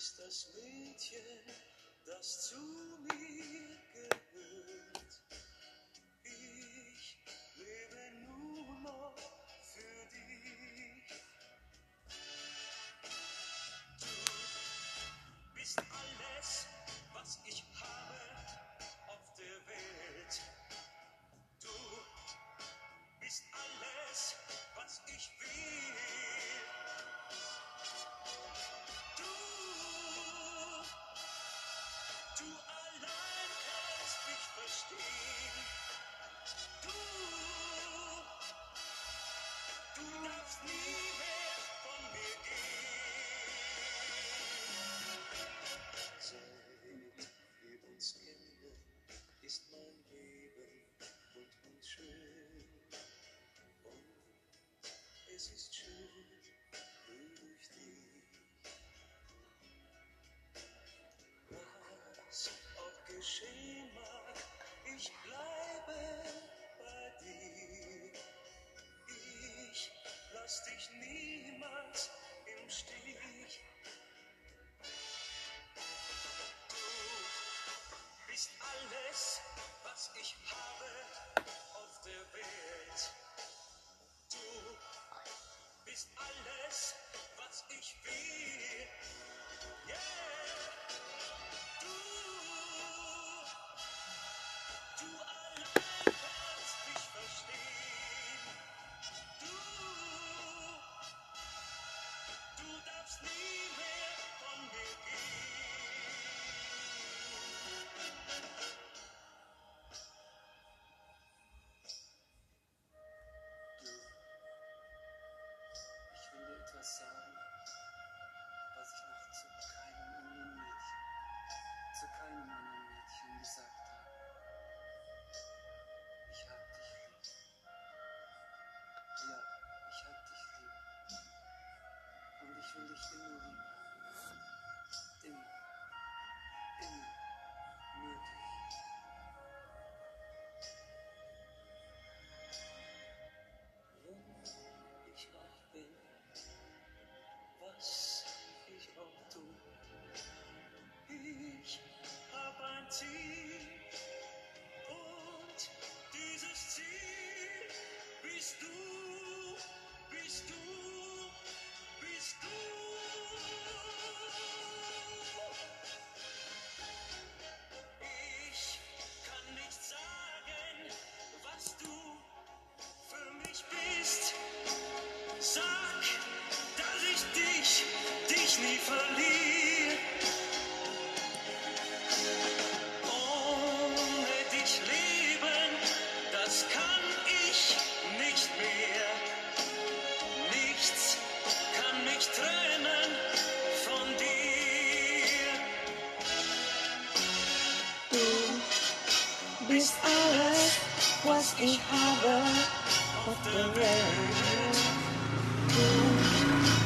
bist das Mädchen, das zu mir gehört. Ich lebe nur noch für dich. Du bist alles, was ich habe auf der Welt. Du bist alles, was ich will. Du allein kannst mich verstehen. Du darfst nie mehr von mir gehen. Seit wir uns kennen, ist mein Leben bunt und schön. Und es ist schön durch dich. Was auch geschehen mag, ich bleibe bei dir. Ich lass dich niemals im Stich. Du bist alles, was ich habe auf der Welt. Du bist alles, was ich will. Yeah. Du allein kannst mich verstehen. Du darfst nie mehr von mir gehen. Ich will dir etwas sagen, was ich noch zu keinem anderen Mädchen gesagt habe. Ich hab dich lieb. Ja, ich hab dich lieb. Und ich will dich immer lieben. Immer. Immer. Nur dich. Wenn ich auch bin, was ich auch tu, ich hab ein Ziel. Und dieses Ziel bist du, bist du, bist du. Ich kann nicht sagen, was du für mich bist. Sag, dass ich dich nie verliere. Ohne dich leben, das kann ich nicht mehr. Nichts kann mich trennen von dir. Du bist alles, was ich habe auf der Welt. Du